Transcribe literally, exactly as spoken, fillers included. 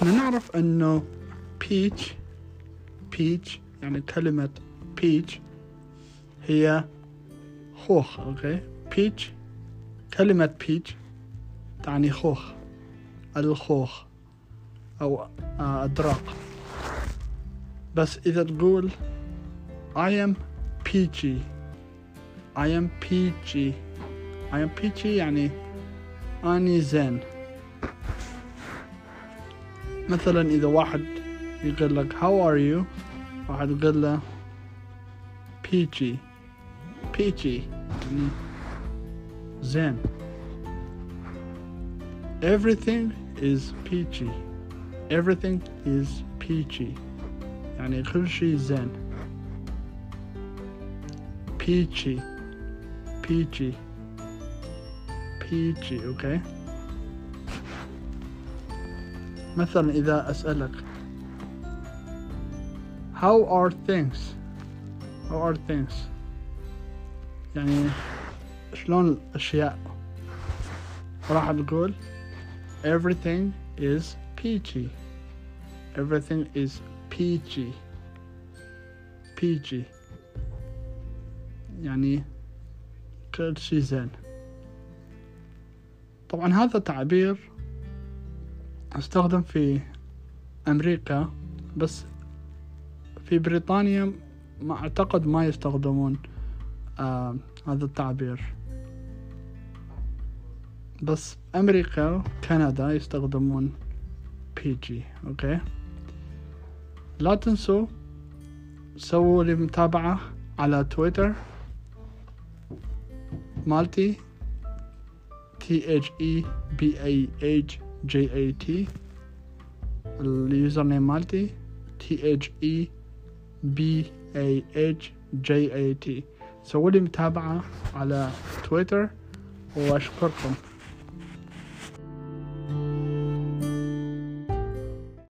احنا نعرف انه peach peach يعني كلمة peach هي خوخ. اوكي peach كلمة peach تعني خوخ، الخوخ او ادراق. بس اذا تقول I am peachy I am peachy I am peachy يعني أني زين. مثلا إذا واحد يقول لك how are you، واحد يقول له peachy peachy يعني زين. everything is peachy everything is peachy يعني كل شيء زين. peachy peachy peachy اوكي. مثلا إذا أسألك how are things how are things يعني شلون الأشياء، راح تقول everything is peachy everything is peachy peachy يعني كل شيء زين. طبعا هذا تعبير استخدم في أمريكا، بس في بريطانيا ما أعتقد ما يستخدمون آه هذا التعبير، بس أمريكا وكندا يستخدمون بيجي. أوكي لا تنسوا سووا لي متابعة على تويتر مالتي T H E B A H J A T اليوزر نيم مالتي T H E B A H J A T. سووا لي متابعة على تويتر وأشكركم.